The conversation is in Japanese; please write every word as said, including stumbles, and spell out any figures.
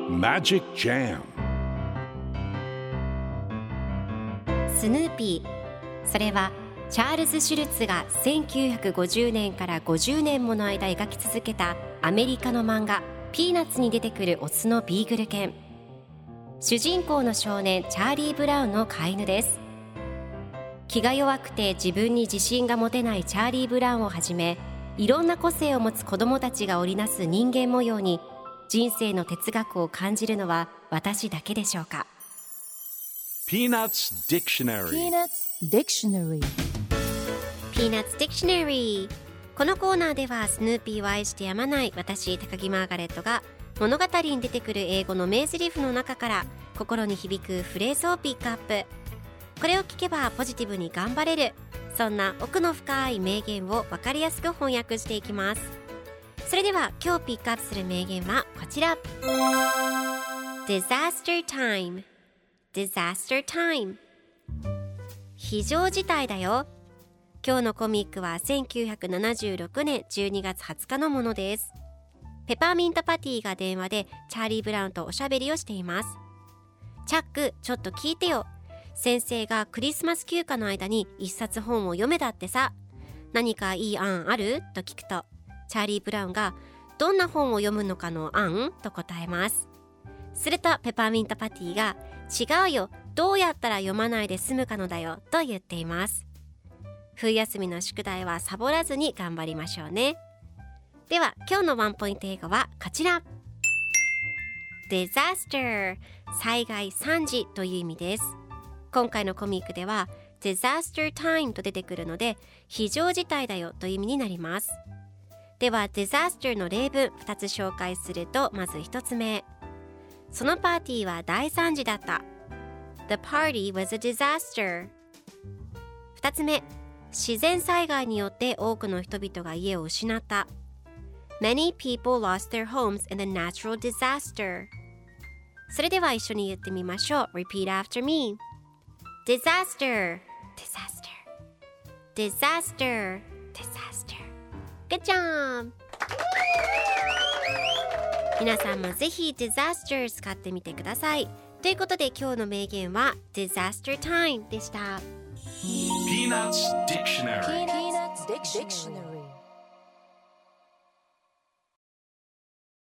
Magic Jam スヌーピー、それはチャールズ・シュルツがせんきゅうひゃくごじゅうねんからごじゅうねんもの間描き続けたアメリカの漫画ピーナッツに出てくるオスのビーグル犬。主人公の少年チャーリー・ブラウンの飼い犬です。気が弱くて自分に自信が持てないチャーリー・ブラウンをはじめ、いろんな個性を持つ子どもたちが織りなす人間模様に人生の哲学を感じるのは私だけでしょうか。 Peanuts Dictionary Peanuts Dictionary Peanuts Dictionary。 このコーナーではスヌーピーを愛してやまない私高木マーガレットが物語に出てくる英語の名台詞の中から心に響くフレーズをピックアップ。これを聞けばポジティブに頑張れる、そんな奥の深い名言を分かりやすく翻訳していきます。それでは今日ピックアップする名言はこちら。 Disaster time Disaster time 非常事態だよ。今日のコミックはせんきゅうひゃくななじゅうろくねんじゅうにがつはつかのものです。ペパーミントパティが電話でチャーリー・ブラウンとおしゃべりをしています。チャック、ちょっと聞いてよ。先生がクリスマス休暇の間に一冊本を読めだってさ。何かいい案ある？と聞くと、チャーリー・ブラウンがどんな本を読むのかの案？と答えます。するとペパーミントパティが違うよ、どうやったら読まないで済むかのだよと言っています。冬休みの宿題はサボらずに頑張りましょうね。では今日のワンポイント英語はこちら。 Disaster 災害惨事という意味です。今回のコミックでは Disaster time と出てくるので非常事態だよという意味になります。では Disaster の例文ふたつ紹介すると、まずひとつめ、そのパーティーは大惨事だった。 The party was a disaster。 ふたつめ、自然災害によって多くの人々が家を失った。 Many people lost their homes in a natural disaster。 それでは一緒に言ってみましょう。 Repeat after me。 Disaster Disaster Disaster Disaster。 Good job。 皆さんもぜひ Disaster 使ってみてください。ということで今日の名言は Disaster time でした。 Peanuts Dictionary Peanuts Dictionary